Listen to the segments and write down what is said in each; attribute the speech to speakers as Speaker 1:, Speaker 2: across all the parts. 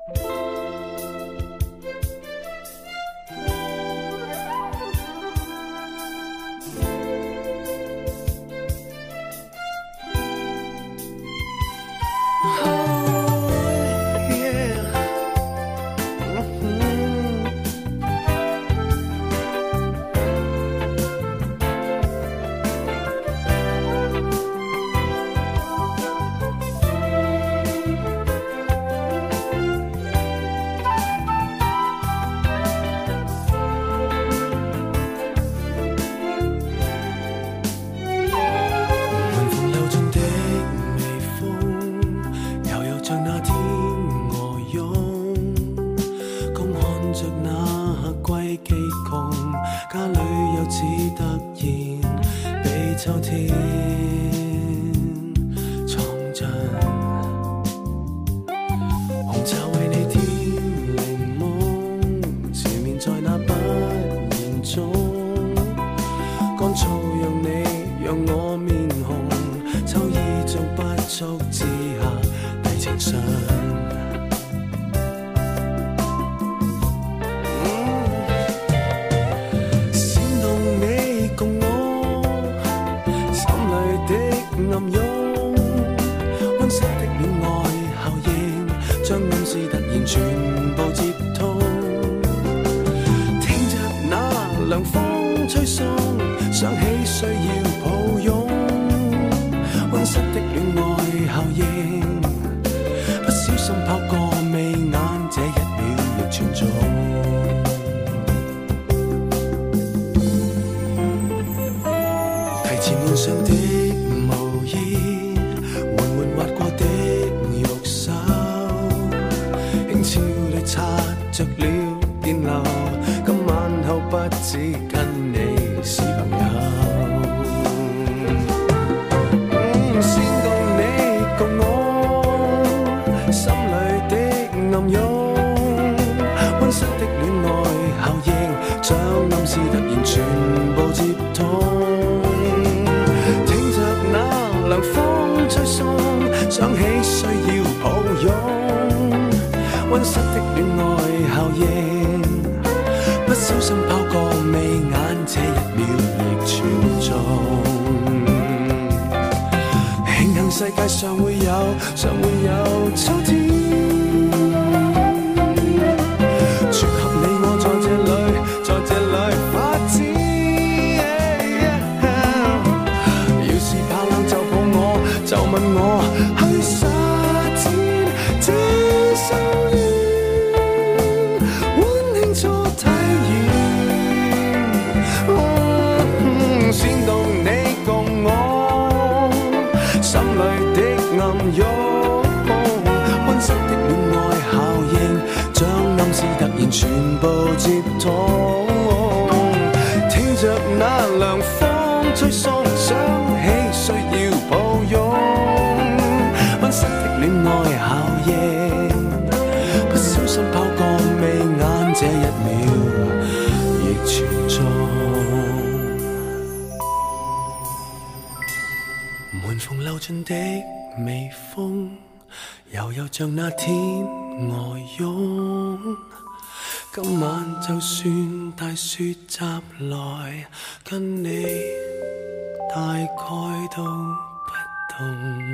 Speaker 1: 像那天外涌，今晚就算大雪袭来，跟你大概都不同。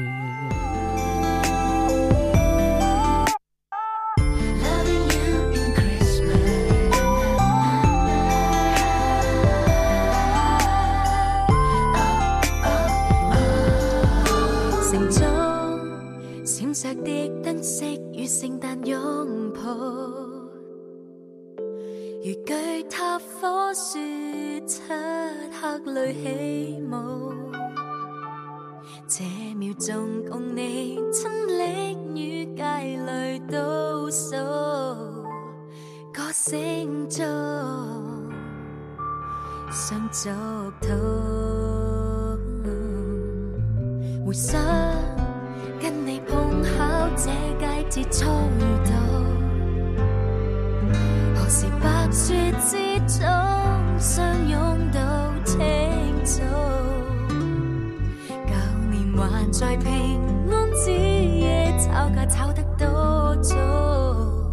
Speaker 2: 闪烁的燈飾與聖誕擁抱，如巨塔火樹漆黑裏起舞。這秒鐘共你親歷與界裏倒數，歌聲中想祝禱，回想跟你碰巧這季節初遇到，何時白雪之中相擁到清早，舊年還在平安之夜吵架吵得多早，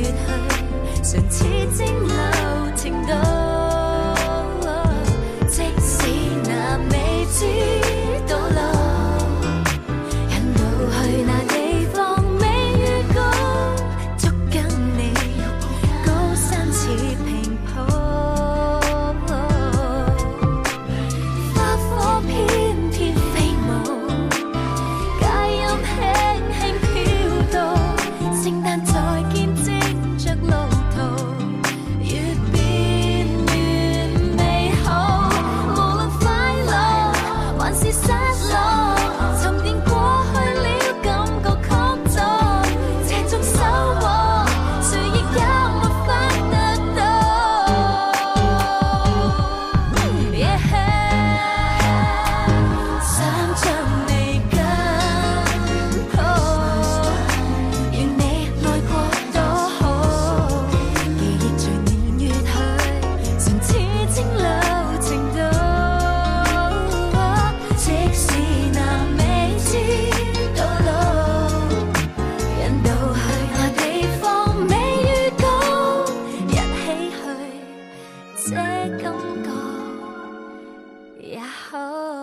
Speaker 2: 去，唇似蒸餾程度。即使那未知道路，引導去那地方未預告，捉緊你高山似平鋪，花火翩翩飛舞，佳音輕輕飄到，聖誕再見證着路途，越變越美好。無論快樂還是失落，沉澱過去了感覺曲作，這種收穫誰亦也沒法得到。想將你緊抱，願你愛過多好，記憶隨年月去，唇似蒸餾程度。即使那未知道路，引導去那地方未預告，一起去，這感覺也好。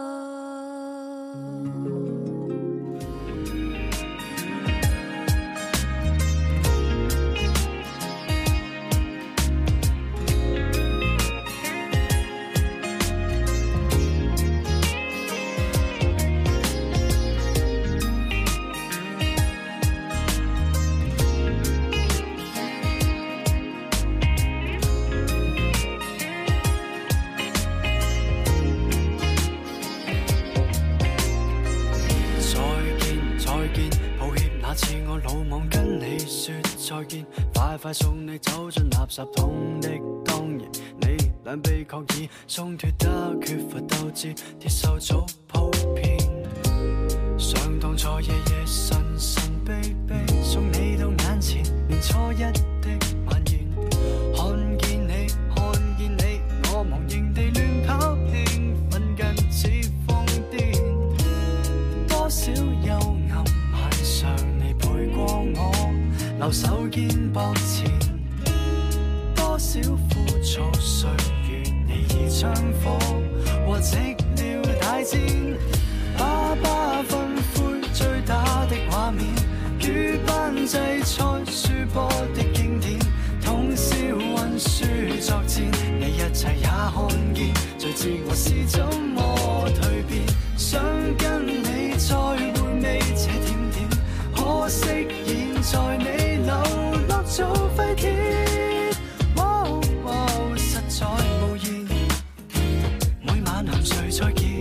Speaker 1: 抱歉那次我魯莽跟你說再見，快快送你走進垃圾桶的當然，你兩臂確已鬆脱得缺乏鬥志，鐵鏽早鋪遍，想當初夜夜神神秘秘送你到眼前，年初一的晚宴，看見你，我茫然地亂跑，興奮近似瘋癲，多少幽暗晚上你陪過我，留手肩膊前，多少枯燥歲月你已槍火，和寂寥大戰，爸爸分灰追打的畫面，與班制賽輸波的經典，通宵溫書作戰，你一切也看見，最知我是怎麼蛻變，想跟你再回味這點點，可惜現在你流落做廢鐵，實在無言，每晚含睡再見。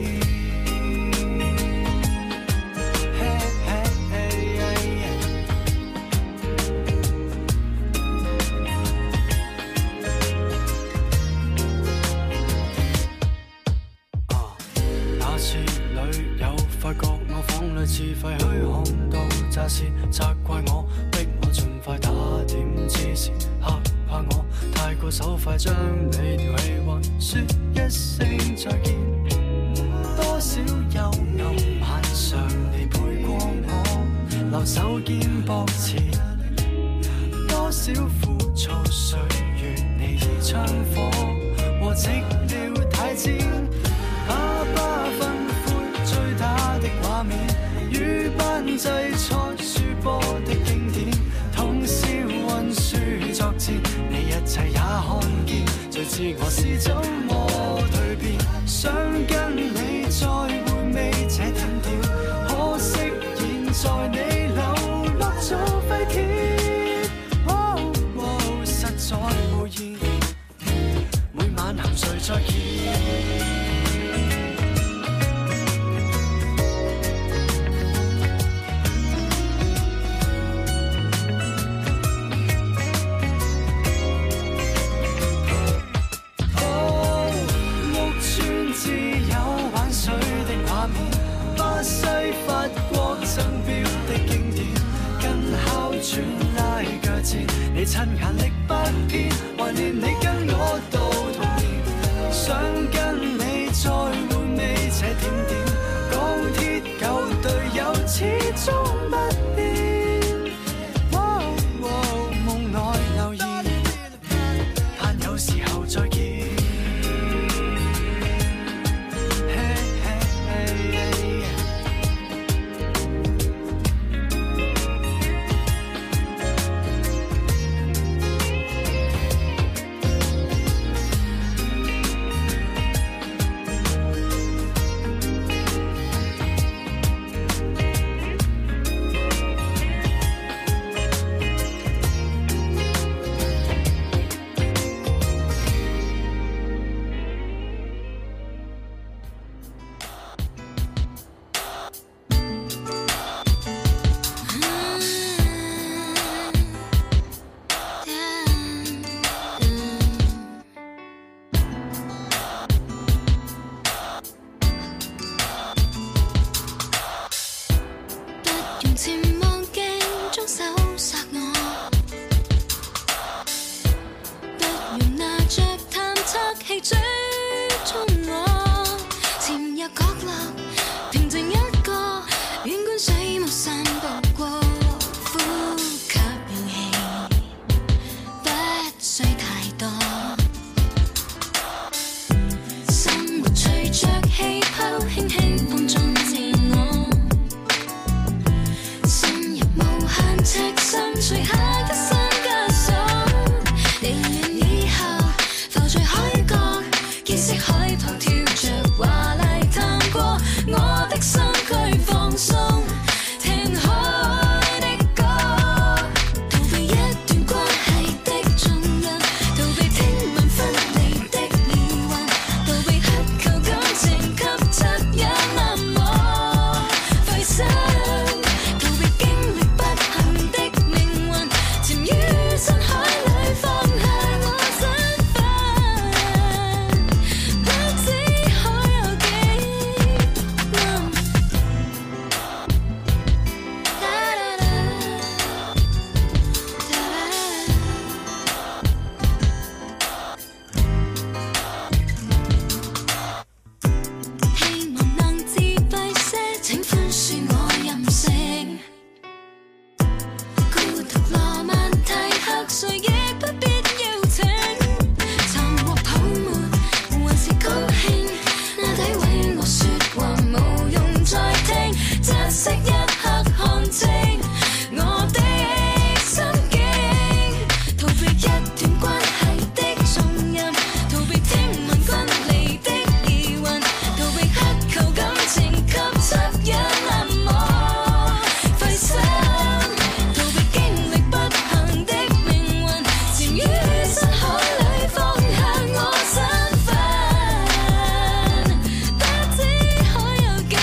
Speaker 1: 那次旅遊發覺我房裏自廢墟看到乍是責怪我，逼我盡快打點之時，嚇怕我太過手快，將你調戲還說一聲再見，多少幽暗晚上你陪過我，留手肩膊前，多少枯燥歲月你已槍火，和寂寥大戰，爸爸分灰追打的畫面，與班制賽輸波的經典，通宵溫書作戰，你一切也看見，最知我是怎麼蛻變，想跟你再回味這點點，可惜現在你流落做廢鐵，實在無言，每晚含睡再見。巴西、法國爭標的經典，跟哮喘拉腳戰，你親眼力不偏，懷念你跟我到童年，想跟你再回味這點點，鋼鐵舊隊友始終不變，夢內
Speaker 2: 氣追蹤我，潛入角落，平靜一個，遠觀水幕散步過，呼吸氧氣，不需太多。生活隨着氣泡，輕輕碰撞自我，深入無限尺上，除下一身枷鎖。地暖以後，浮在海角，見識海旁跳着華麗探過，我的身軀放鬆，聽海的歌，逃避一段關係的重任，逃避聽聞分離的疑雲，逃避乞求感情給惻隱冷漠，費心逃避經歷不幸的命運，潛於深海裏放下我身份，不知海有幾暗。希望能自閉些，請寬恕我任性。孤獨羅曼蒂克，誰亦不必邀請。沉獲泡沫，還是高興。那詆毀我說話，無用再聽。窒息一刻，看清我的心境，逃避一段關係的重任，逃避聽聞分離的疑雲，逃避乞求感情給惻隱冷漠，費心逃避經歷不幸的命運，潛於深海裏放下我身份，不知海有幾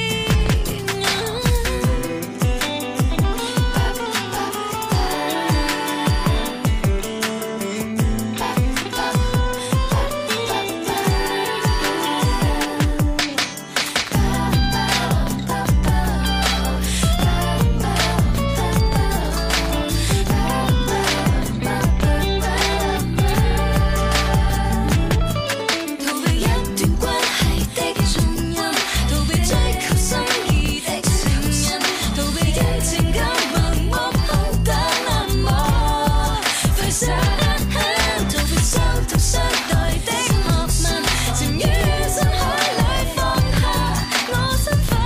Speaker 2: 逃避一段關係的重任，逃避追求心意的承認，逃避因情感盲目空等冷漠，費心逃避相同相待的學問，潛於深海裏放下我身份，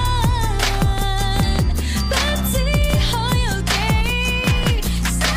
Speaker 2: 不知海有幾深。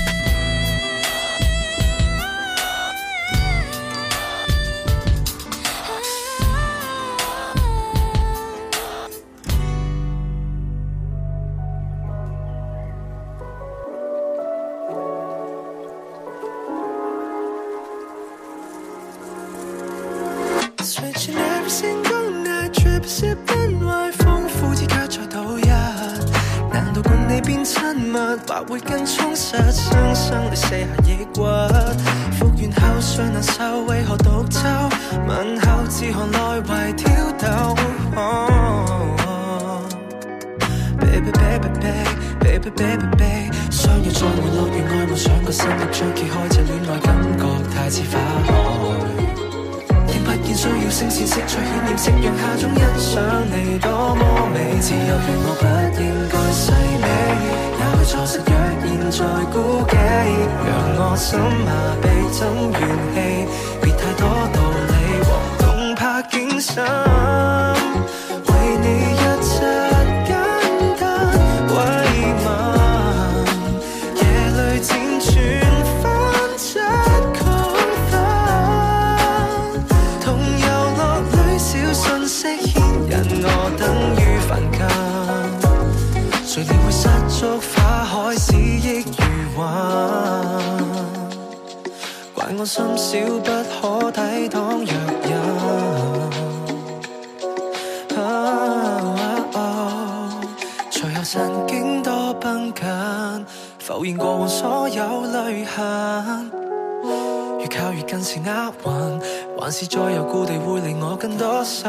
Speaker 1: Switching every single night, trip sipping wine，豐富之卻在度日。難道共你變親密，或會更充實？雙生裏卸下抑鬱，復原後尚難受，為何獨奏？問候自寒來為挑逗。Baby baby baby baby baby baby， 相約在玩樂園愛夢想個新的章揭開，這戀愛感覺太似花海。聽不見需要聲線色彩渲染，夕陽下中欣賞你多麼美。自由如我不應該細味，也許錯失若現在估計，讓我心麻痹怎怨氣，別太多道理和動魄驚心，為你一切簡單慰問，夜裏輾轉反側亢奮，同遊樂裏小信息牽引我等於凡近，誰料會失足花海使益如雲，怪我心小不可抵擋若人。隨後神經多繃緊，浮現過往所有淚痕，越靠越近是厄運，還是再由故地會離我更多心。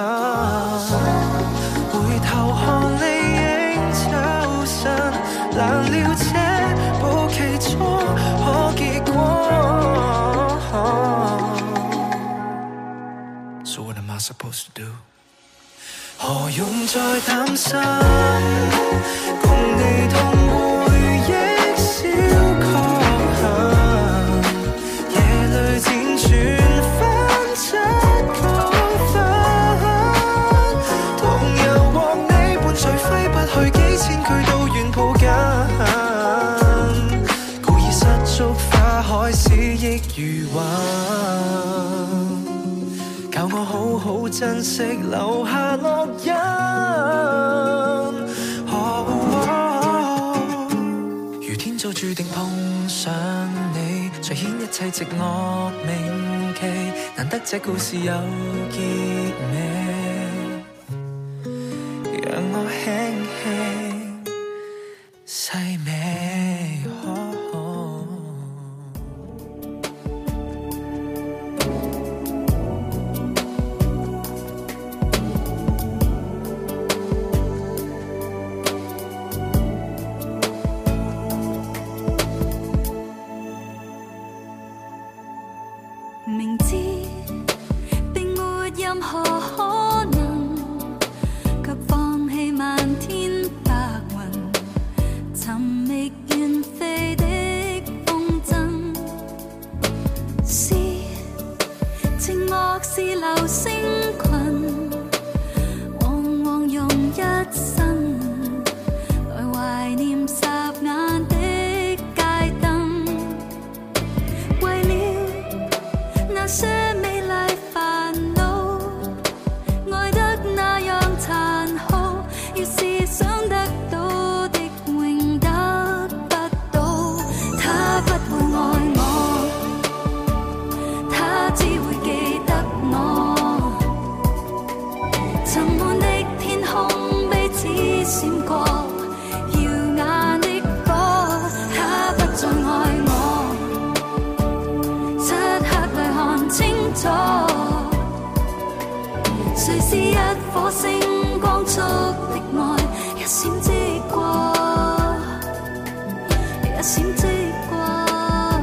Speaker 1: 回頭看理應抽身，難料這步棋錯可結果。 用再擔心，共你同回憶小確幸，夜裏輾轉翻出高分，同遊和你伴隨揮不去幾千句都願抱緊，故意失足花海思憶如雲，教我好好珍惜留下烙印。如天早注定碰上你，才顯一切寂寞銘記。難得這故事有結尾，讓我輕輕細味。
Speaker 2: 明知並沒任何可能，卻放棄漫天白雲，尋覓遠飛的風箏。是寂寞是流星群，往往用一生來懷念霎眼的街燈，為了那些美麗煩惱，愛得那樣殘酷，要是想得到的永得不到。他不會愛我，他只會記得我。沉悶的天空彼此閃過耀眼的歌，他不再愛我，漆黑裏看清楚，誰是一顆星光速的愛，一閃即過，一閃即過。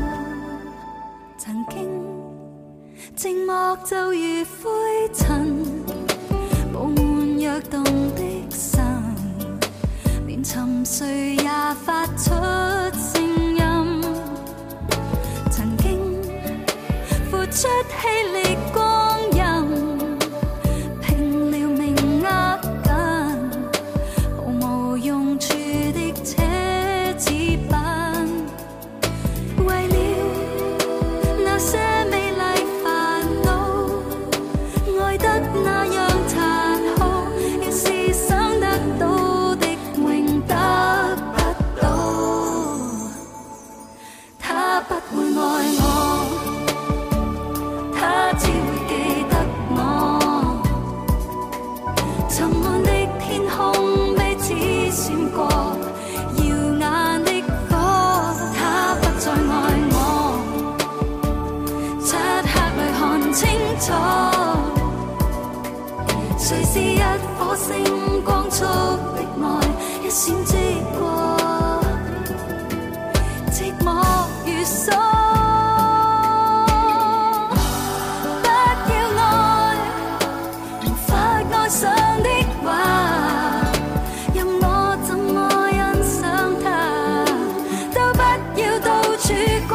Speaker 2: 曾經寂寞就如灰塵，布滿躍動的心，連沉睡也發出聲音。曾經付出氣力光陰，拼了命握緊，毫無用處的奢侈品，為了那些美麗煩惱，愛得那樣殘酷，要是想得到的永得不到。他不會愛我，他只會記得我。沉悶的天空彼此閃過耀眼的歌，他不再愛我，漆黑裏看清楚，誰是一顆星光速的愛，一閃即過，寂寞如鎖。上的話，任我怎麼欣賞它，都不要到處掛。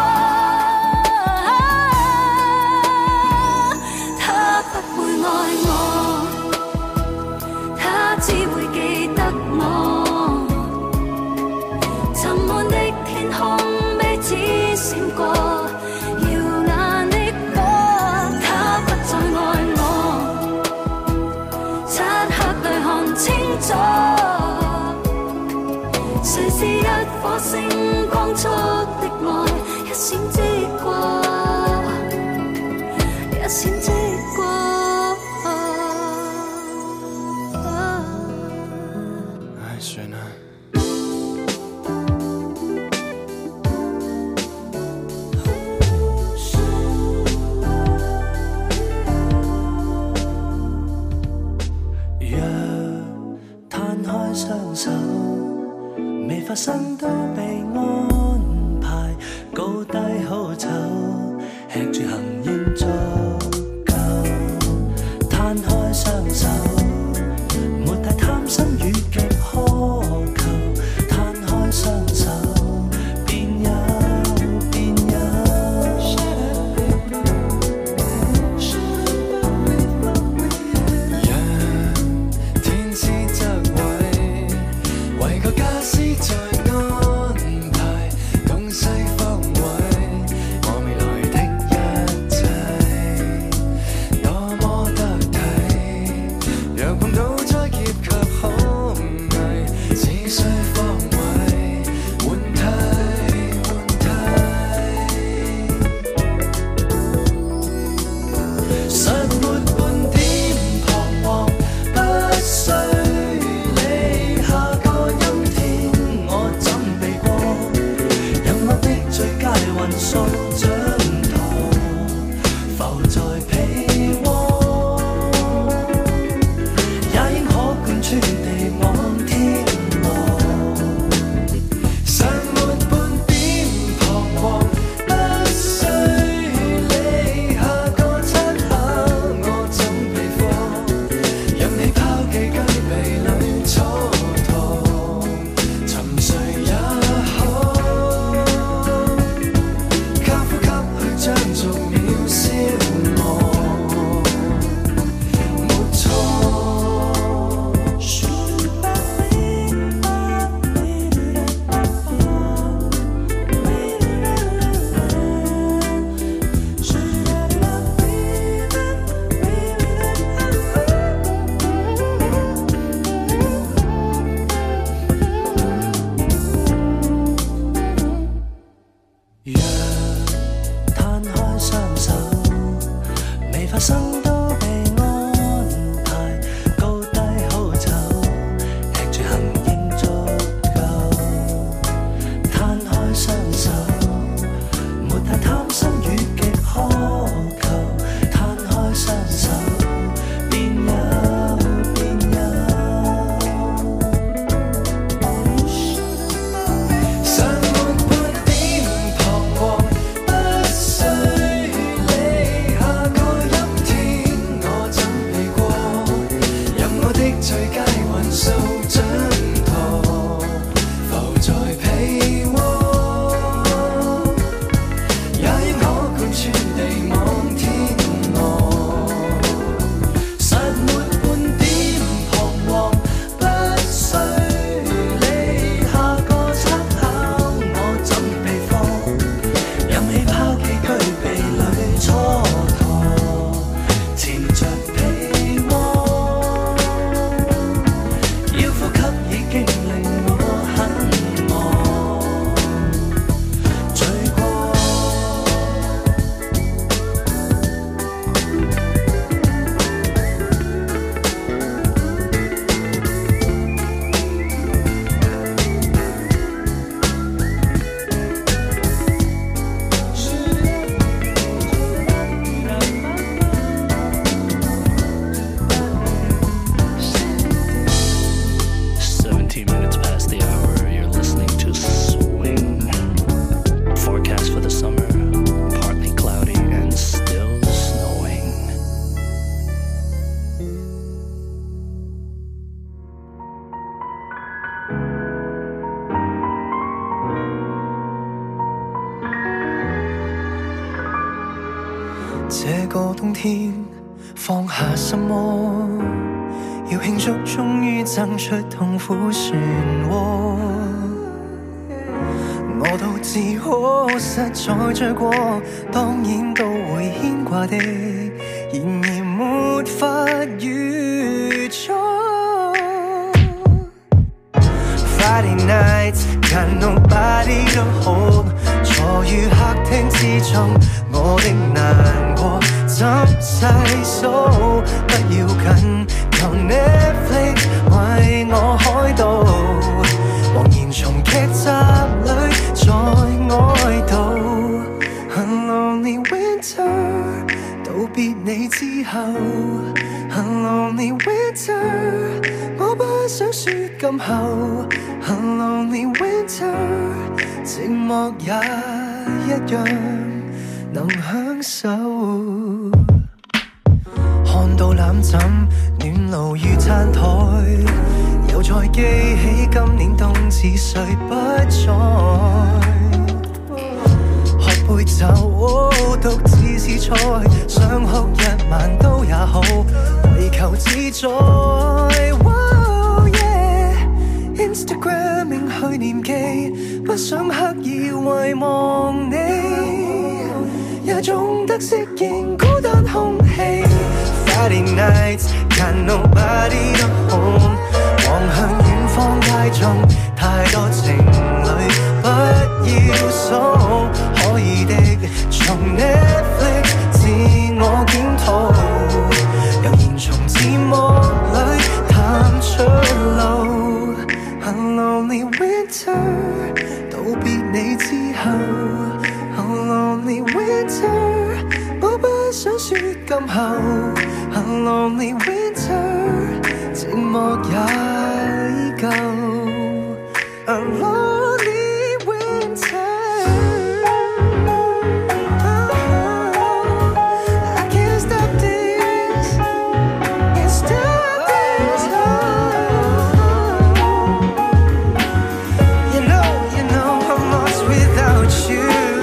Speaker 2: 他不會愛我，他只會記得我。沉悶的天空彼此閃過耀眼的歌，他不再愛我，漆黑裏看清楚，誰是一顆星光速的愛，一閃即過，一閃即過。
Speaker 1: 唉，算啦。雙手未發生都被安排，高低好醜，吃住行應足夠。攤開雙手， 这个冬天放下什么？要庆祝终于爭出痛苦漩渦。我都自可實在醉過，當然都會牽掛的，然而沒法預測。Friday nights got nobody to hold， 坐於客廳之中，我的難過怎細數？不要緊，求 Netflix 為我開導，茫然從劇集裏再哀悼。很 lonely winter， 道別你之後，很 lonely winter， 我不想說今後。很 lonely winter， 寂寞也一樣能享受。看到攬枕暖爐與餐台，又再記起今年冬至誰不在。喝杯酒，獨自是菜，想哭一晚都也好，為求自在。Instagramming 去年記，不想刻意遺忘你，也總得適應孤單空氣。Friday nights got nobody to hold， 望向遠方街中，太多情侶不要數，可以的從 Netflix 自我檢討，悠然從字幕裏探出路。很 lonely winter， 道別你之後，很 lonely winter， 我不想說今後 A lonely winter， 寂寞也依舊 A lonely winter。I can't stop this, can't stop this. You know I'm lost without you.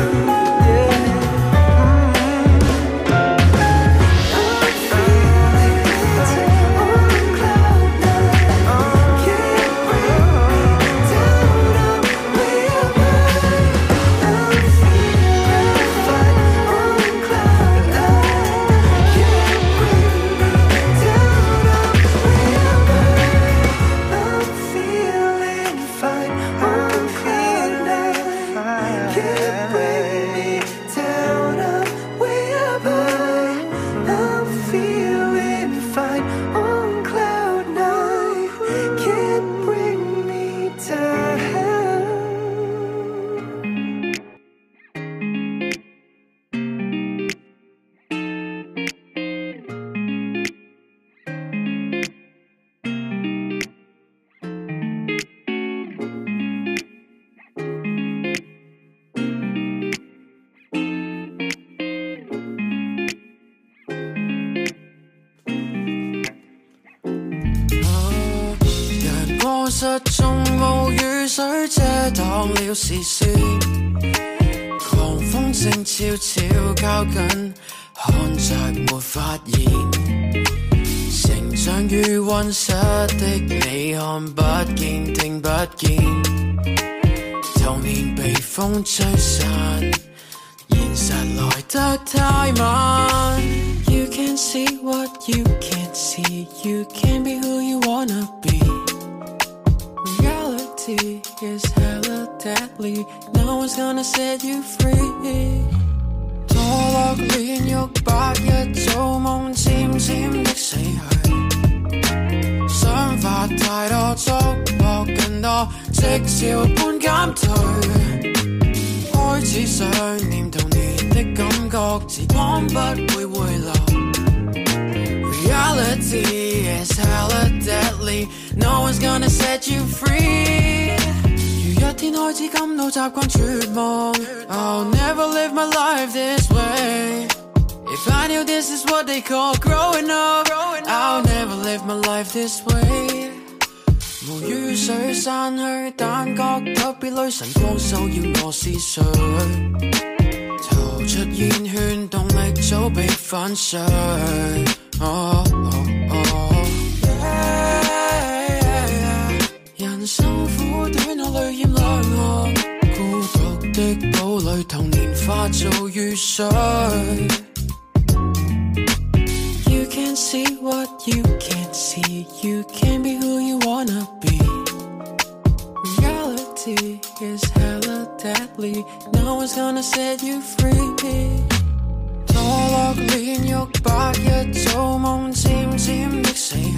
Speaker 1: 失蹤無雨水遮擋了視線，狂風正悄悄靠近，看着沒發現，成長於溫室的你看不見聽不見，童年被風吹散，現實來得太慢。You can see what you can't see, you can be who you wanna be.Reality is hella deadly, no one's gonna set you free. 墮落煉獄白日做夢漸漸的死去，想法太多束縛更多，即潮般減退，開始想念童年的感覺，時光不會回流。Reality is hella deadly, no one's gonna set you free. 如一天開始感到習慣絕望 I'll never live my life this way. If I knew this is what they call growing up, I'll never live my life this way. 無雨水散去，但覺特別累，晨光騷擾我思緒，逃出煙圈，動力早被粉碎。人生苦短，我淚染兩岸，孤獨的堡壘，童年化做雨水。You can see what you can't see, you can be who you wanna be. Reality is hella deadly, no one's gonna set you free. 墮落煉獄白日做夢漸漸的死去，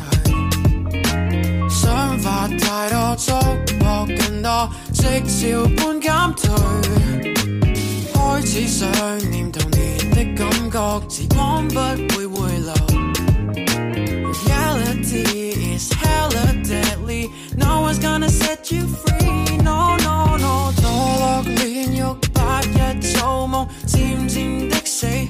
Speaker 1: 想法太多束縛更多，即潮般減退，開始想念童年的感覺，時光不會回流。Reality is hella deadly, no one's gonna set you free. No, no, no. 墮落煉獄白日做夢漸漸的死去，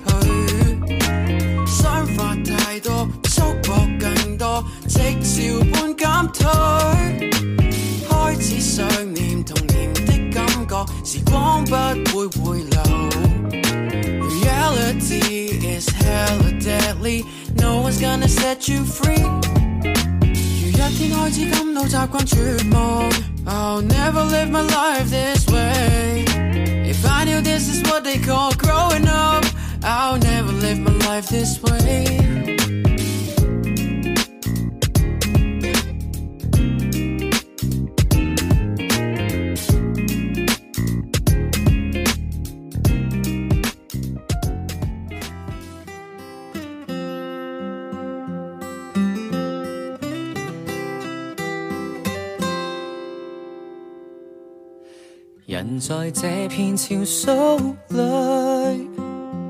Speaker 1: 想法太多束縛更多，即潮般減退，開始想念童年的感覺，時光不會回流。Reality is hella deadly, no one's gonna set you free. 如一天開始感到習慣絕望 I'll never live my life this way. If I knew this is what they call growing up, I'll never live my life this way.
Speaker 3: 人在這片潮水裏，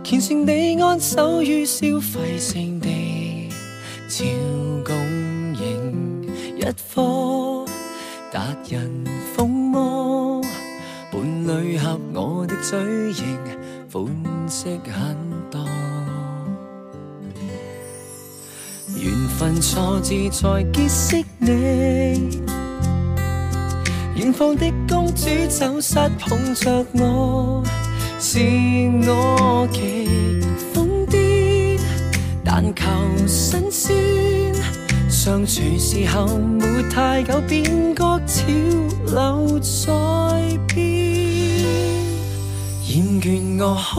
Speaker 1: 虔誠地安守於消費性地，照供應一顆達人風魔，伴侶合我的嘴型，款式很多。緣分錯字在結識你，遠方的公主走失捧着我，是我極瘋癲，但求新鮮。相處時候沒太久，便覺潮流在變。厭倦我好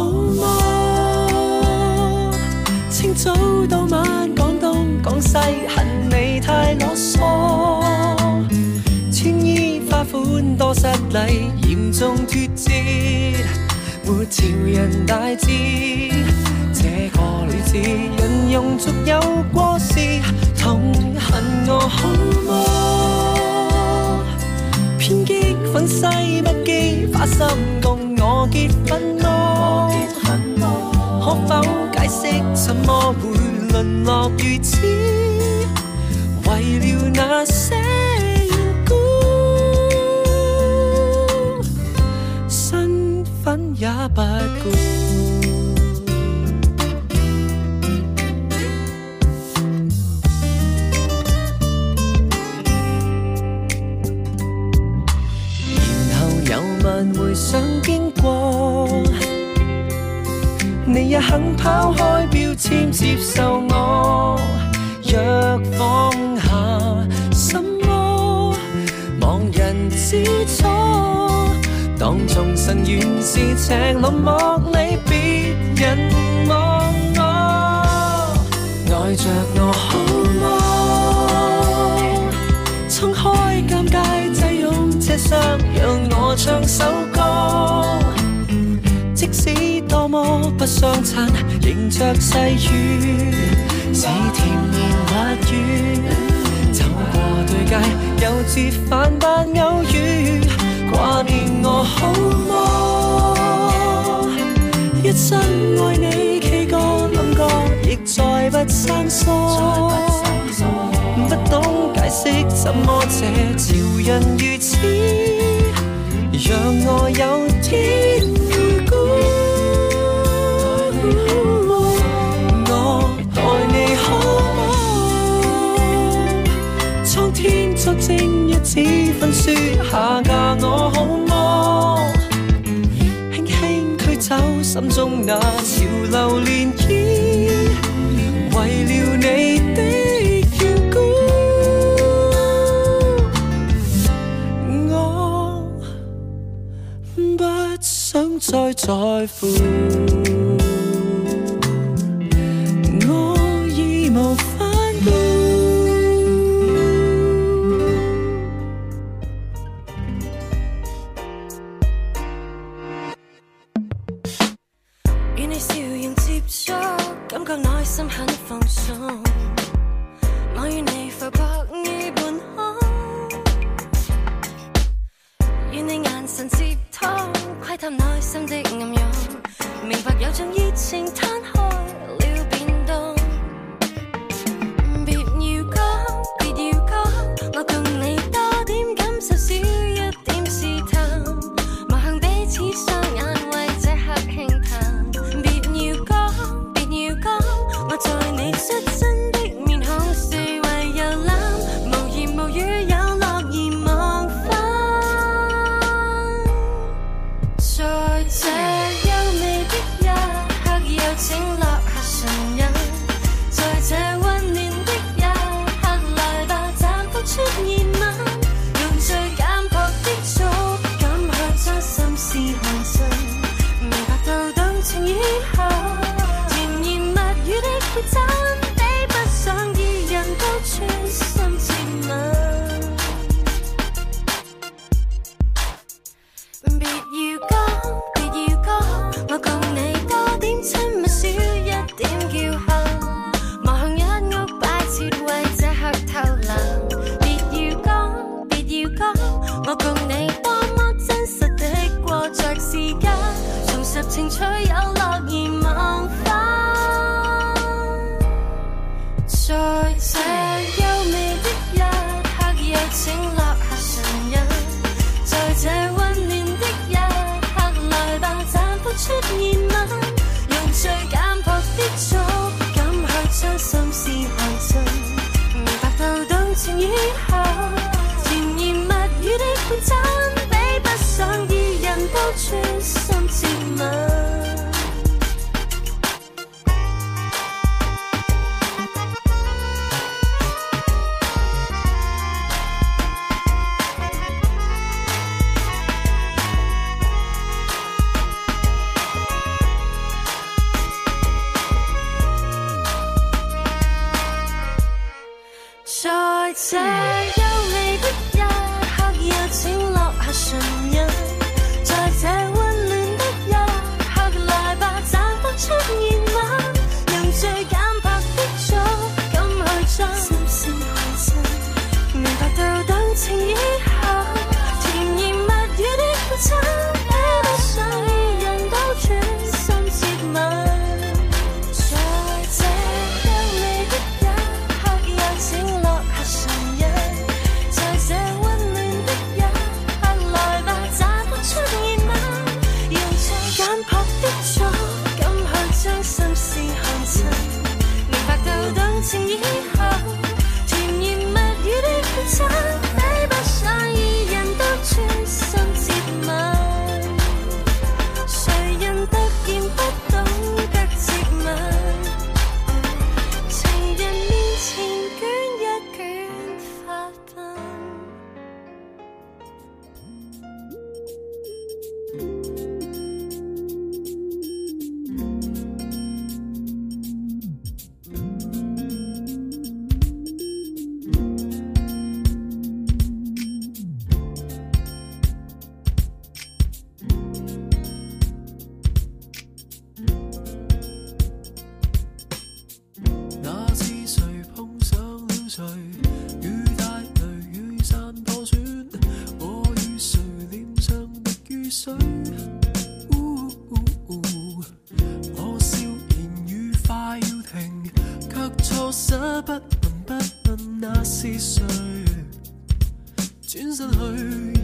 Speaker 1: 麼？清早到晚講東講西，恨你太囉嗦。穿衣花款多失禮，嚴重脫節，沒潮人大志。這個女子人用俗有過時，痛恨我好麼？偏激憤世不羈，花心共我結婚麼？可否解釋怎麼會淪落如此？為了那些緣故，身份也不顧。回想經過，你也肯拋開標籤接受我。若放下什麼，望人之初，當眾神原是赤裸莫理別人望我，愛着我好麼？衝開尷尬擠擁車廂，讓我唱首歌，即使多麼不相襯，迎着細雨，似甜言蜜語，走過對街，又折返般偶遇，掛念我好麼？一生愛你K歌冧歌，亦再不生疏，不懂解釋怎麼這潮人如此，讓我有天如故。我待你好麼？蒼天作證一紙婚書，下嫁我好麼？輕輕驅走心中那潮流漣漪，為了你的想再在乎，我義無反顧。與你笑容接觸，感覺內心很放鬆。我與你浮泊於半空，與你眼神接通，窺探內心的暗湧，明白有種熱情攤開了變動。別要講，別要講，我共你多點感受，少一點試探，望向彼此雙眼，為這刻輕嘆。別要講，別要講，我在你率真的面孔四圍遊覽，無言無語有樂而忘返。在這優美的一刻，有請落下唇印。在這溫暖的一刻，來吧，暫不出現吻，用最簡樸的觸感去將心事看盡，明白到動情以後，甜言蜜語的決真，比不上二人都專心接吻。別要講，別要講，我共你多點親密，少一點叫喊，望向一屋擺設，為這刻偷懶。別要講，別要講，我共你多麼真實地過着時間，重拾情趣有樂而忘。
Speaker 2: 這優美的一刻，有請落下唇印，在這溫暖的一刻，來吧，綻放出熱吻，用最簡樸的觸感去將心事看盡，明白到動情以後，甜言蜜語的配襯，比不上二人都專心接吻。在這優美的一刻，有請落下唇印，在這溫暖的一刻，來吧，綻放出熱吻，用最簡樸的觸感去將心事看盡，明白到動情以後，甜言蜜語的配襯，比不上二人都專心接吻。在這優美的一刻，有請落下唇印，在這溫暖的一刻，來吧，綻放出熱吻，用最簡樸的觸感去將心事看盡，明白到動情以後，甜言蜜語的配襯，比不上二人都專心接吻。誰人突然不懂得接吻？情人面前捲一捲發鬢。
Speaker 1: 那次誰碰上了誰？雨帶淚，雨傘破損，我與誰臉上滴雨水？我笑言愉快要停，卻錯失不問那是誰？轉身去。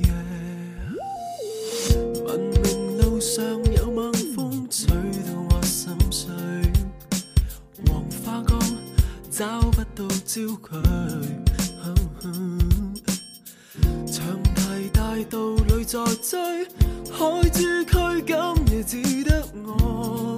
Speaker 1: 文明路上有猛風吹到我心碎，黃花崗找不到焦距，長堤大道裏在追，海珠區今夜只得我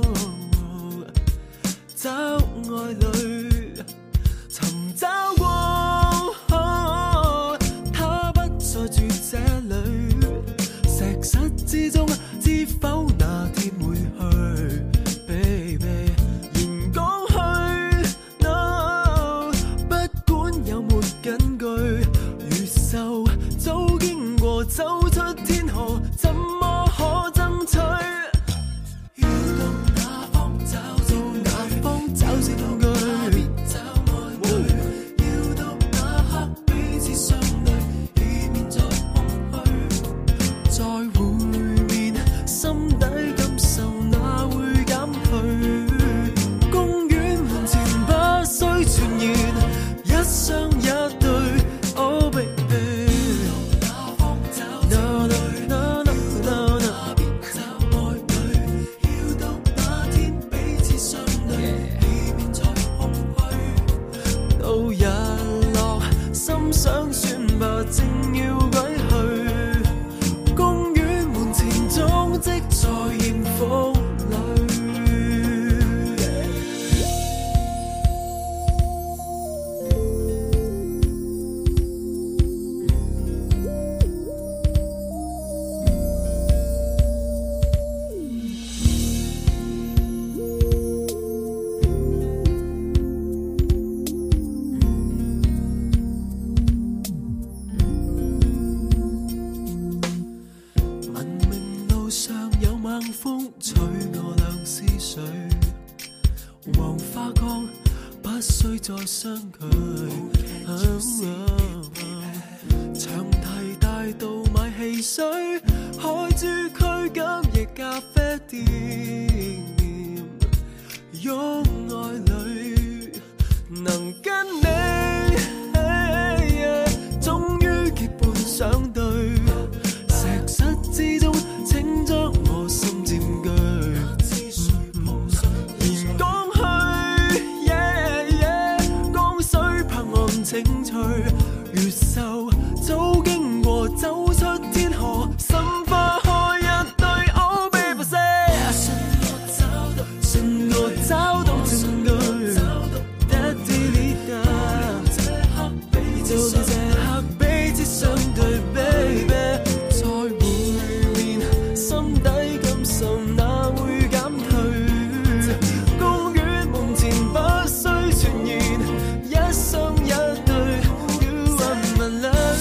Speaker 1: 找愛侶，尋找過，他不再住這裏，石室之中知否那天會去 ，baby。言講去 ，no， 不管有沒根據，越秀早經過，走出天河，怎麼可爭取？要到哪方找到哪方找證據？找愛侶，要到那刻彼此相對，以免再空虛。再會面，心底感受哪會減退？公園門前不需傳言，一雙一對，oh baby。哪方找證據？哪邊找愛侶？要到那天彼此相對，以免再空虛。到日落，心想算吧，正要歸去。公園門前蹤跡在艷福裏。文明路上有猛風吹我倆思緒，黃花崗不需再相距。長堤大道買汽水，海珠區今夜咖啡店，擁愛侶能跟你。 退，越秀早經過，走出天河，心花開一堆。Oh baby say， 信我找到證據，就連這刻彼此相對 ，baby， 再會面，心底感受哪會減退？公園門前不需傳言，一雙一對 ，You are my love。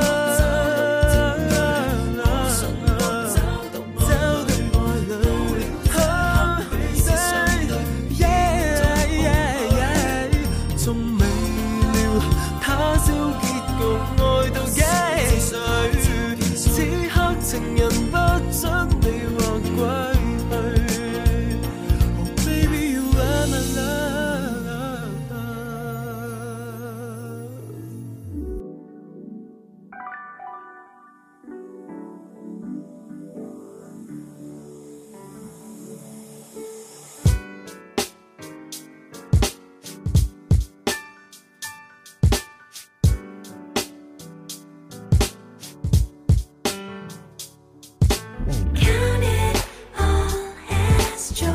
Speaker 1: 找對愛侶，仲未料他朝結局，愛到幾歲？此刻情人不准你或歸去。Oh baby you are my love。
Speaker 2: Count it all as joy.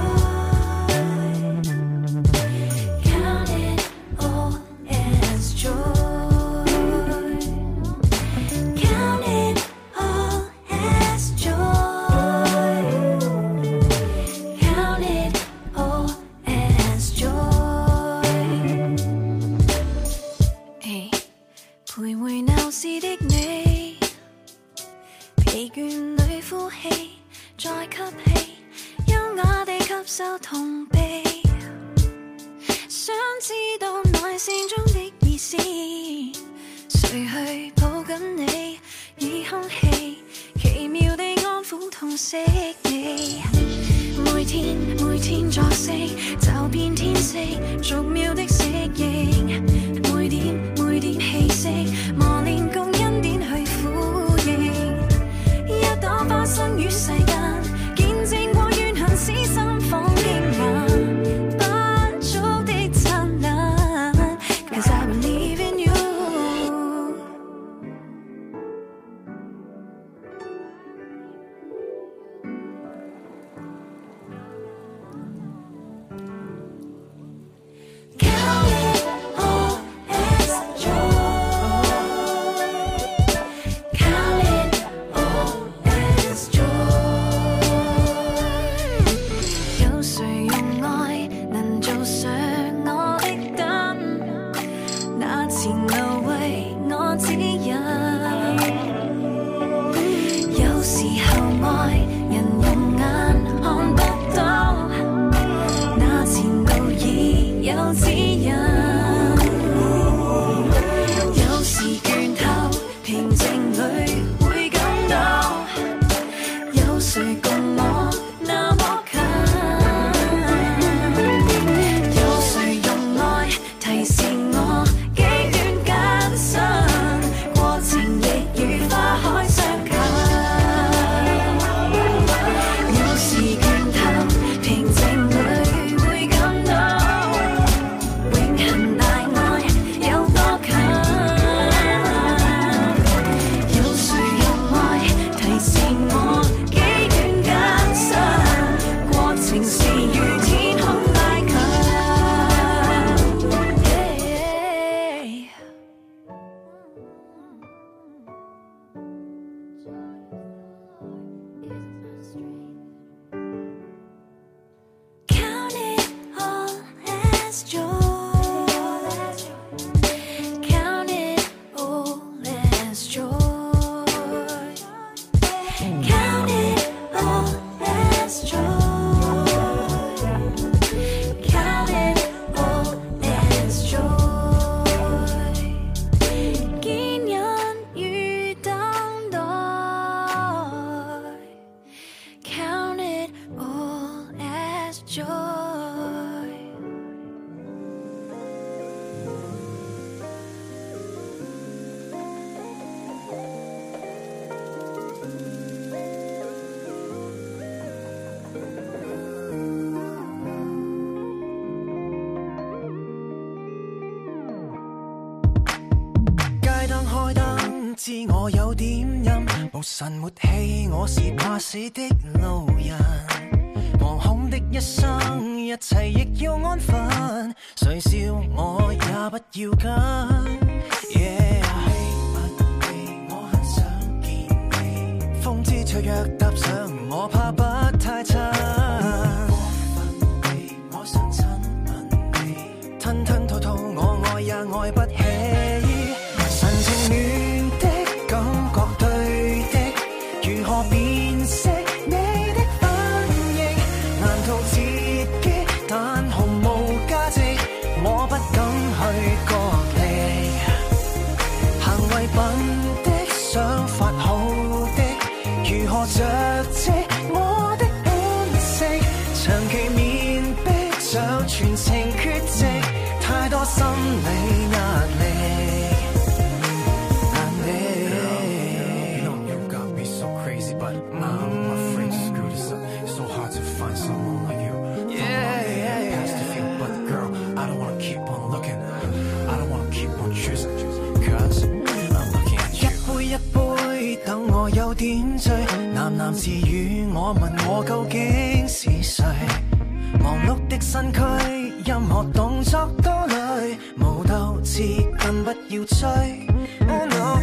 Speaker 2: Count it all as joy. Count it all as joy. Count it all as joy. 徘徊鬧市的你。疲倦裏呼氣，再吸氣，優雅地吸收痛悲。想知道內線中的意思，誰去抱緊你？以空氣奇妙地安撫痛惜你。每天作息，走遍天色，逐秒的適應。每點氣息，磨練共恩典去呼應。一朵花生於世間，見證過怨恨使心放驚訝，不足的燦爛 ，Cause I believe in you。Count it all as joy. Count it all as joy. 有誰用愛能做上我的燈？那前路為我指引。有時候愛人用眼看不到，那前路已有指引。有時倦透，平靜裏會感到，有誰共我那麼近？有誰用愛提示我幾段艱辛，過程亦如花開相近。有時倦透，平靜裏會感到，永恆大愛有多近？有誰用愛提示我幾段艱辛，過程是如天空拉近。Count it all as joy. Count it all as joy. Count it all as joy. Count it all as joy. 堅忍與等待。Count it all as joy.
Speaker 3: 知我有點陰，無神沒氣，我是怕死的路人。惶恐的一生，一切亦要安分。誰笑我也不要跟。Yeah， 我很想見你。風之雀躍踏上，我怕不太親。我想親吻你，吞吞吐吐，我愛也愛不起。神情亂的感覺對的，如何辨識你的反應？難逃自己，但毫無價值，我不敢去角力。行為笨的，想法好的，如何着跡我的本性？長期面壁像全情缺席，太多心理壓力。等我有點醉，喃喃自語，我問我究竟是誰？忙碌的身軀，任何動作都累，無鬥志更不要追。Oh no，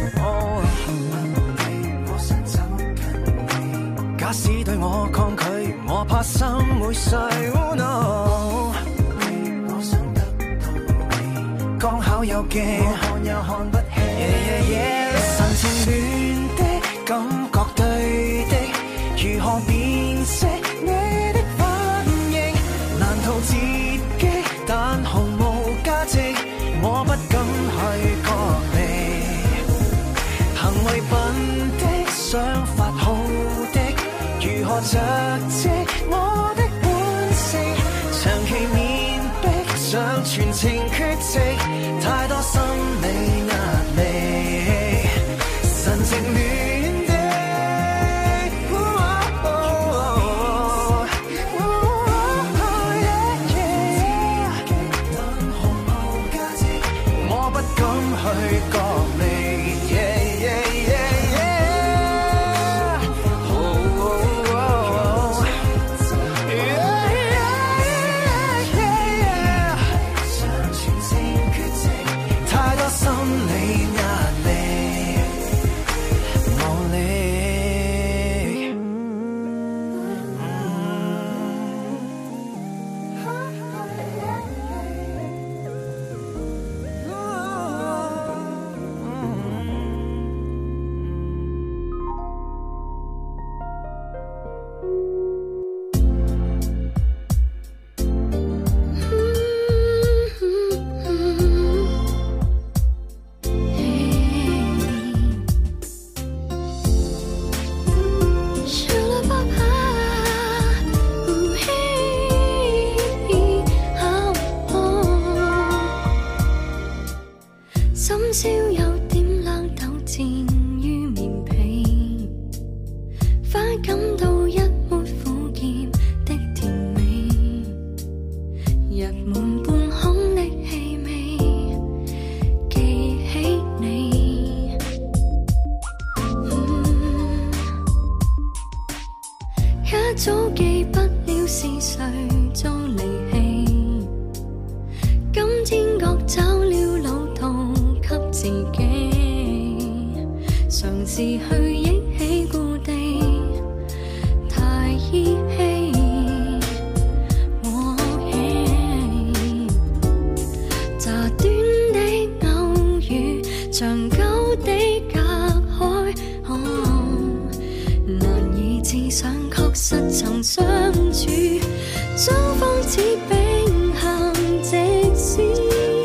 Speaker 3: 我想走近你，假使對我抗拒，我怕心會碎。Oh no， 我想得到你，剛巧有記，我看又看不起。神情亂的感覺對的，如何辨識你的反應？難逃自己，但毫無價值，我不敢去角力。行為笨的，想法好的，如何着跡我的本性？長期面壁像全情缺席，太多心理壓力。神情亂的，但毫無價值，我不敢去角力。像全情缺席，太多心理壓力。無力。
Speaker 2: 深宵有點冷抖戰於面皮，快感到一抹苦澀的甜美，溢滿半空的氣味，記起你。一早記不了是誰遭離棄，今天覺找了老道給自己，嘗試去憶起故地，太依稀。乍短的偶遇，長久的隔開，難以置想，確實曾相處，雙方似並行直線，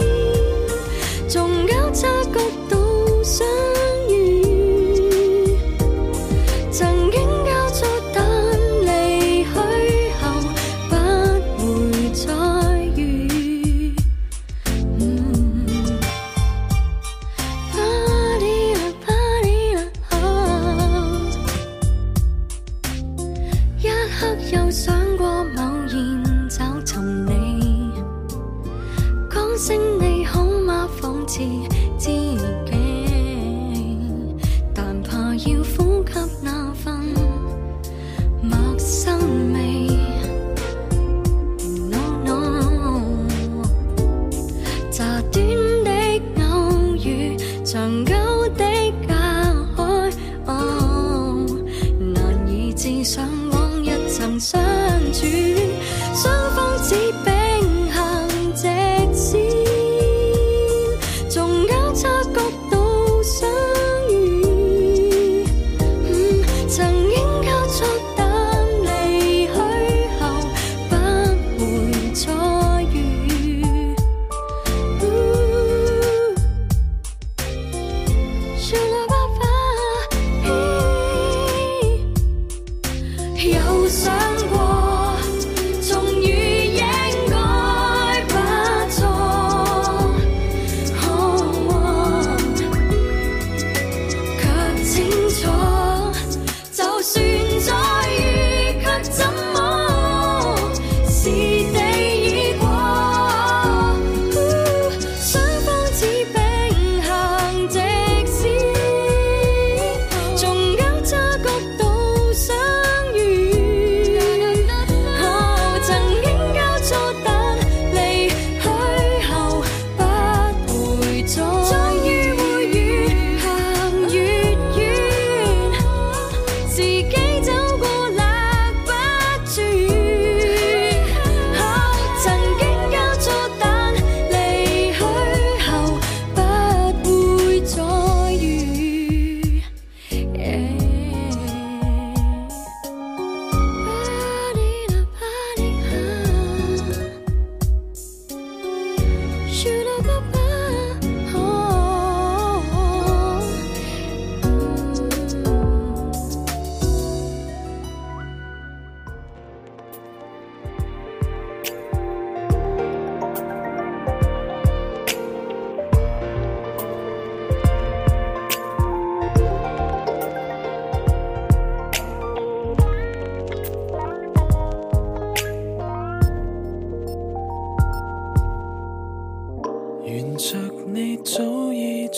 Speaker 2: 縱交叉角度相遇，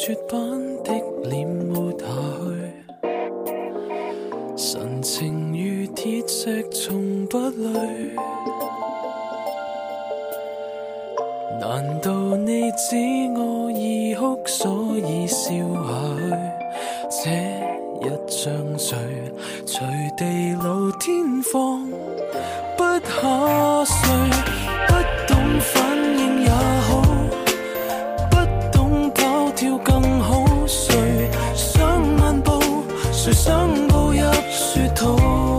Speaker 1: 絕版的臉抹下去，神情如鐵石從不累。難道你知我已哭，所以笑下去？這一張嘴隨地老天荒不下垂，不懂反應也好，不懂跑跳更好。誰想漫步，誰想步入雪土？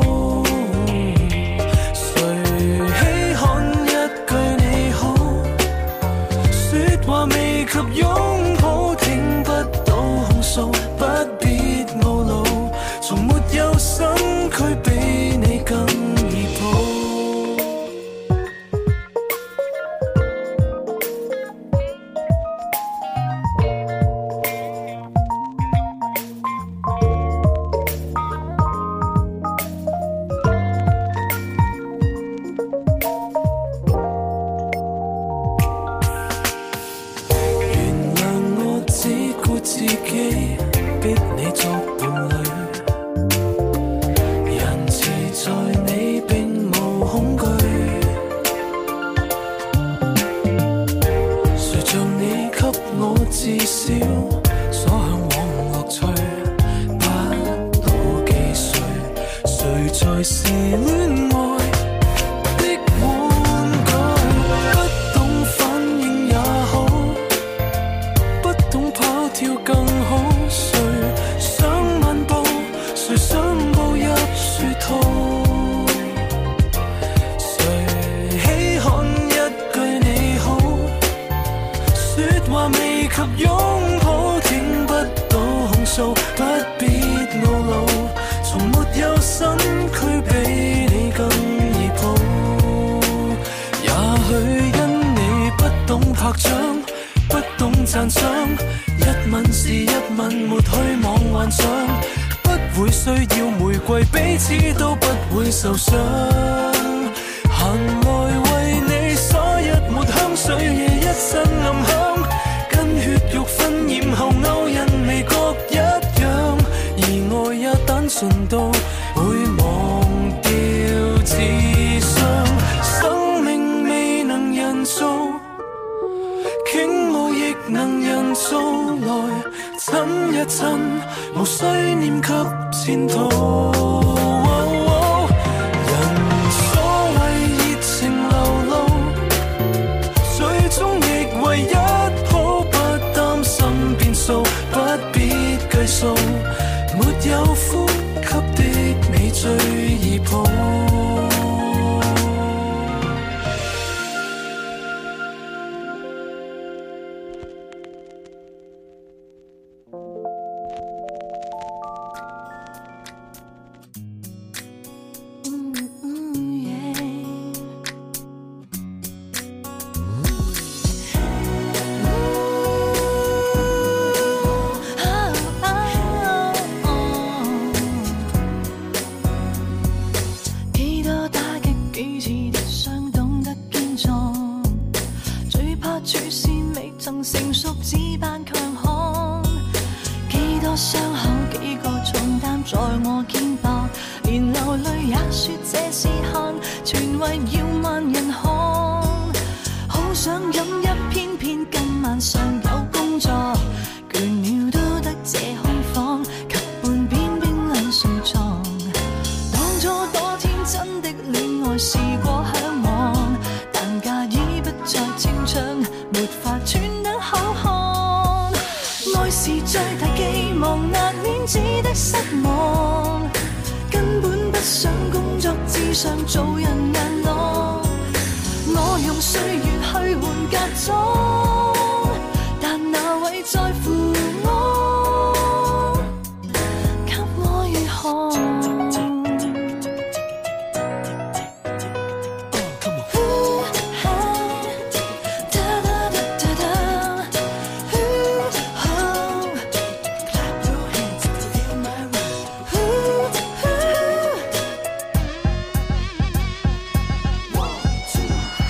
Speaker 1: 誰稀罕一句你好？說話未及擁抱，聽不到控訴，不必懊惱，從沒有身軀比你更易抱。至少所向往樂趣，不老記誰？誰才是戀愛的玩具？不懂反應也好，不懂跑跳更好。誰想漫步，誰想步入雪土？誰稀罕一句你好？說話未及擁抱，聽不到控訴，不必懊惱，從沒有身軀比你更易抱。也許因你不懂拍掌，不懂讚賞，一吻是一吻，沒虛妄幻想，不會需要玫瑰，彼此都不會受傷。行來為你灑一抹香水，夜一身暗香，血肉熏染後勾印味各一樣，而愛也單純到會忘掉智商。生命未能人造，傾慕亦能人造，來親一親，無需念及前途。人所謂熱情流露，最終亦為一不必計數，沒有呼吸的你最易抱。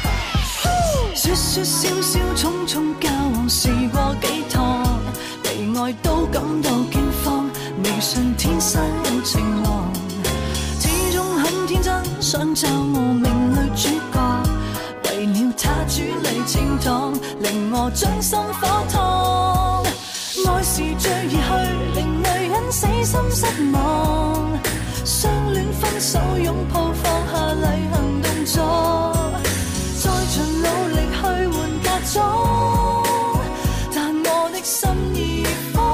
Speaker 4: 說說笑笑，匆匆交往試過幾趟，被尋找我命裏主角，為了他主理清黨，令我將心火燙。愛是最易去，令女人死心失望。相戀分手擁抱，放下例行動作，再盡努力去換嫁妝，但我的心已慌。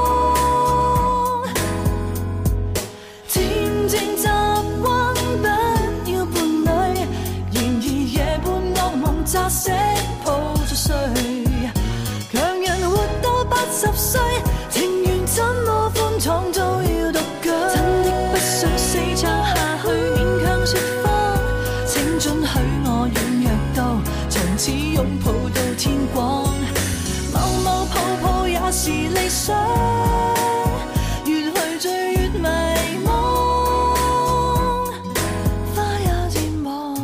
Speaker 4: 漸漸習慣不要伴侶，然而夜半惡夢乍醒抱着睡，強人活到80歲，情緣怎麼寬敞都要獨居。真的不想死撐下去，勉強說謊，請准許我軟弱到從此擁抱到天光。某某抱抱也是理想，越去追越迷惘，花也漸黃。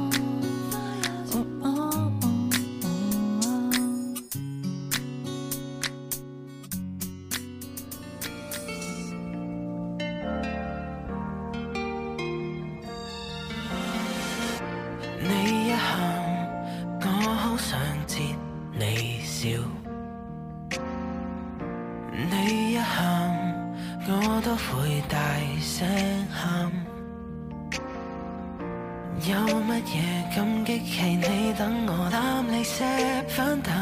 Speaker 3: 你一喊，我好想接你笑；你一喊，我都會大聲喊。有乜嘢咁激氣你，等我攬你錫翻啖。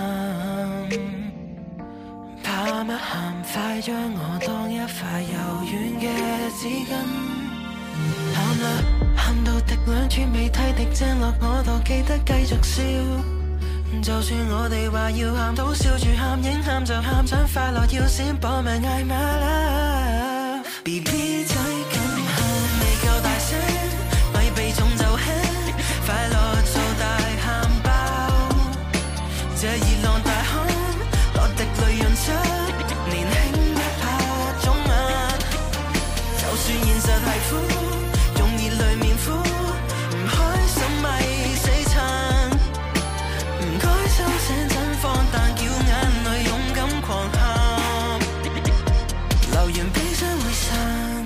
Speaker 3: 怕乜喊，快將我當一塊柔軟嘅紙巾。喊啦，喊到滴兩串鼻涕滴正落我度，記得繼續笑。就算我哋話要喊都笑住喊，應喊就喊，想快樂要先搏命嗌 my love。BB 仔咁喊未夠大聲，咪避重就輕，快樂做大喊爆。這熱浪大汗，落滴淚潤出年輕一拍腫眼。就算現實係苦，用熱淚面敷，唔開心咪死撐。唔該收聲真放膽，叫眼淚勇敢狂喊，流完悲傷會散。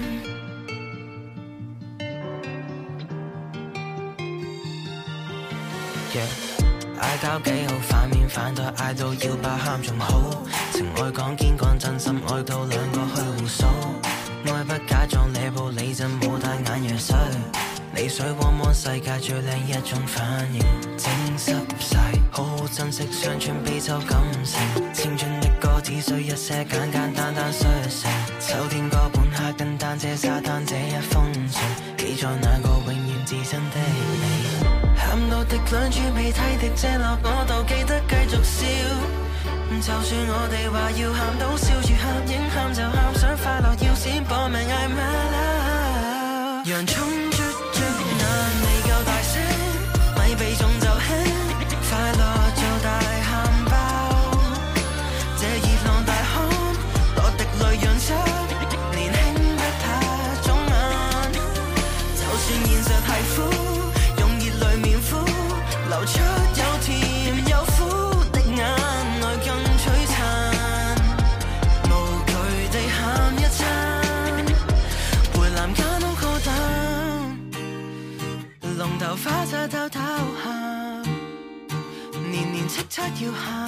Speaker 3: 嗌交幾好，反面反對，嗌到要爆喊仲好。情愛講堅講真心，愛到兩個去互數。愛不假裝你步你陣，冇帶眼藥水。你水汪汪世界最靚一種反應，整濕晒，好好珍惜上串悲秋感情。青春的歌只需一些簡簡單單碎成，秋天哥本哈根單車沙灘這一封信，記載那個永遠至真的你。喊到滴兩串鼻涕滴正落我度，記得繼續笑。就算我哋話要喊都笑住喊，應喊就喊，想快樂要先搏命嗌 my love。洋葱捽捽眼未夠大聲，咪避重就輕，快樂做大喊爆。這熱浪大汗，落滴淚潤出年輕不怕腫眼。就算現實係苦，用熱淚面敷，流出有甜有苦的眼淚更璀璨。無懼地喊一餐，回南加東高等，龍頭花灑偷偷喊，年年叱咤要喊，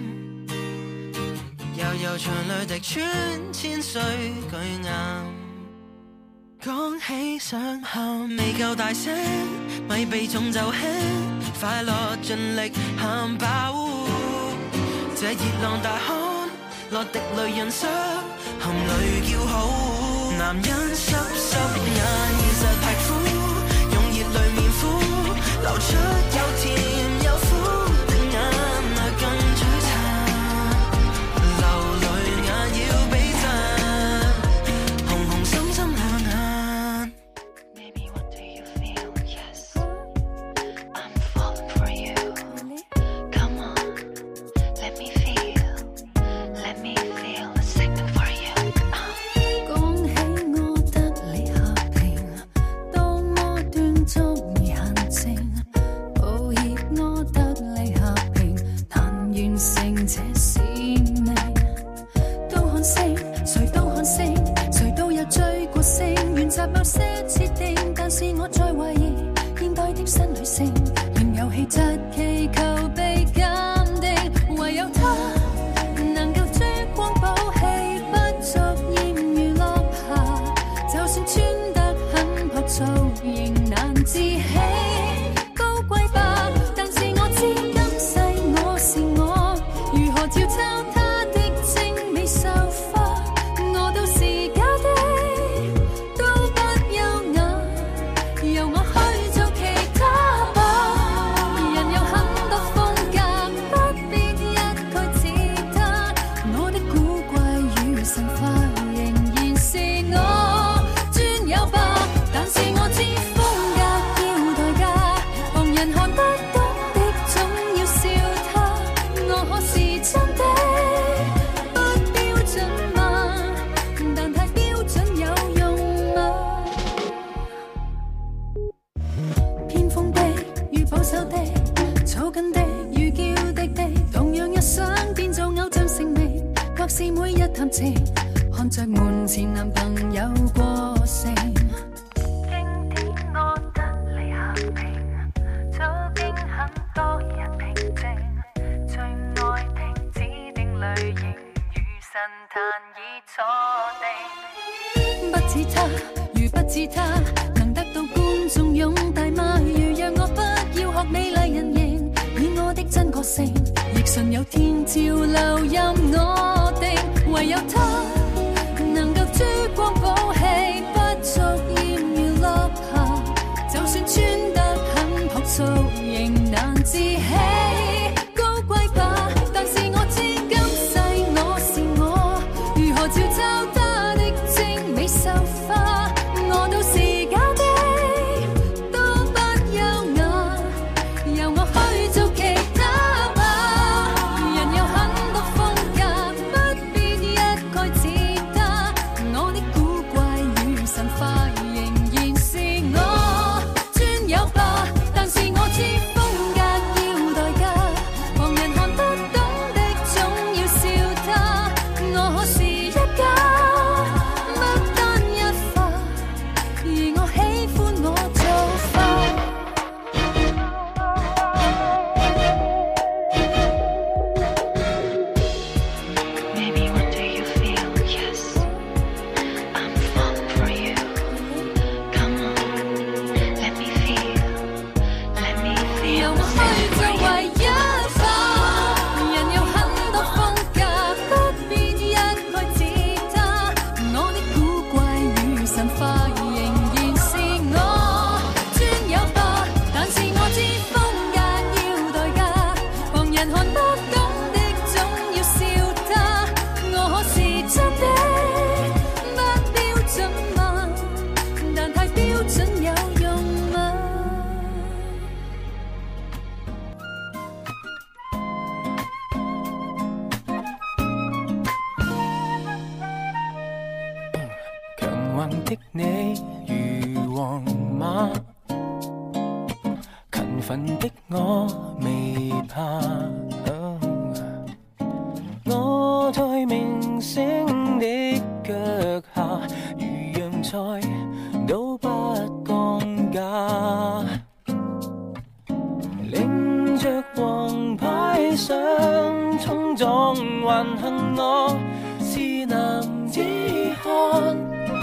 Speaker 3: 悠長淚滴穿千歲巨岩。講起想喊未夠大聲，咪避重就輕，快樂盡力喊飽。這熱浪大汗，落滴淚潤濕，含淚叫好。男人濕濕眼，現實係苦，用熱淚面敷，流出有甜有苦的眼淚更璀璨。流淚眼要比讚，紅紅心心兩眼。Baby, what do you feel? Yes, I'm falling for you. Come on, let me feel a second for you.
Speaker 4: 講起我得你和平，當我斷續而行靜， 一想變做偶像成名，或是每日談情，看着門前男朋友過剩。
Speaker 5: 經典我得你肯定，早經很多日平靜，最愛聽指定類型，如神壇已錯定。
Speaker 4: 不似他，如不似他，能得到觀眾擁戴嗎？如讓我不要學美麗人形，以我的真個性，亦順有天潮流任我定。唯有他能夠珠光寶氣，不俗艷如落霞，就算穿得很樸素，仍難自欺高貴吧。但是我知今世我是我，如何照抄他的精美秀花，我都是假的，都不優雅，由我去做其他吧。人有很多風格，不必一概似他，我的古怪與神化仍然是我專有吧。但是我知風格要代價，旁人看不懂的總要笑他，我可是一家，不單一化，而我喜歡我做法。
Speaker 5: Maybe one day you feel, yes, I'm falling for you. Come on, let me feel, let me
Speaker 4: 由
Speaker 5: feel.
Speaker 4: 我去做唯一吧。人有很多風格，不必一概似他，我的古怪與神化仍然是我專有吧。但是我知風格要代價，旁人看不懂的總要笑他，我可是真的，不標準嗎？但太標準有用嗎？
Speaker 3: 強橫的你如皇馬，勤奮的我未怕。我在明星的腳下，如洋菜都不降價。領着黃牌相衝撞還幸我是男子漢，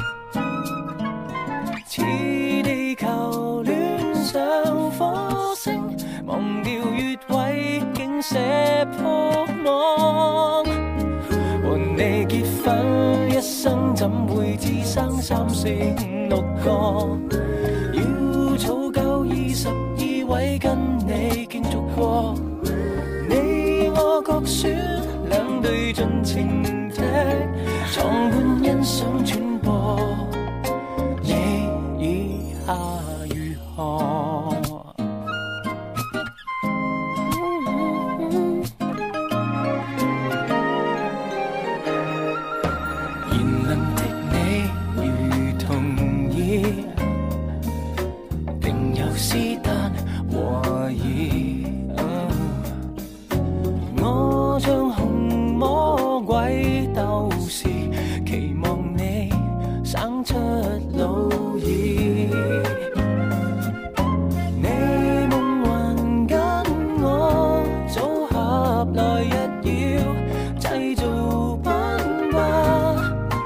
Speaker 3: 似地球戀上火星，忘掉越位竟射破網。和你結婚一生怎會只生3、4、5、6個？要儲夠22位跟你競逐過，你我各選兩隊盡情踢，床伴欣賞轉播，你以下如何？言論的你如同意，定有斯丹和義。我像紅魔鬼鬥士，期望你生出老兒。你夢還跟我組合來日要製造奔吧，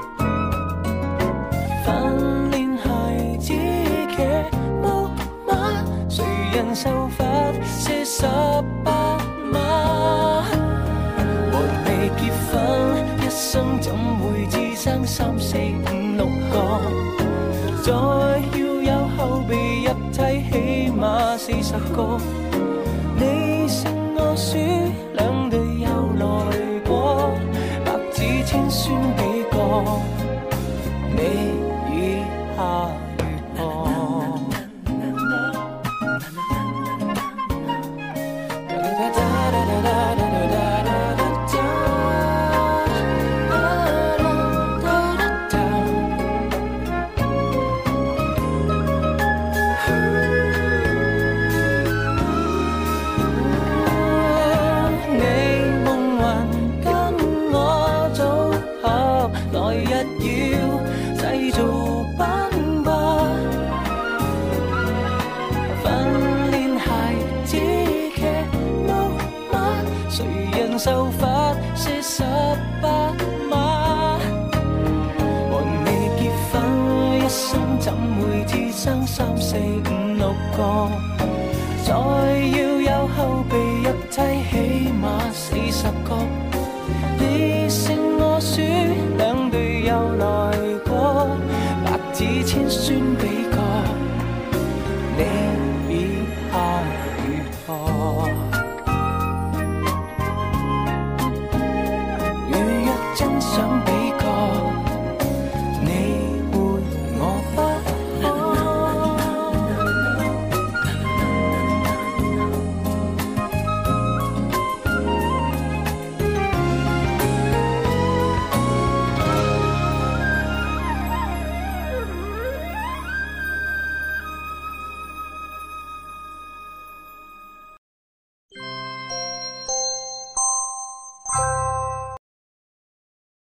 Speaker 3: 訓練孩子騎木馬，誰人受罰些18碼？和你結婚一生怎會只生3、4、5、6個？再要有後備入替，起碼40個。你勝我輸，兩隊又來過，白紙簽宣幾個？你以下如何？
Speaker 4: 谁人受罰？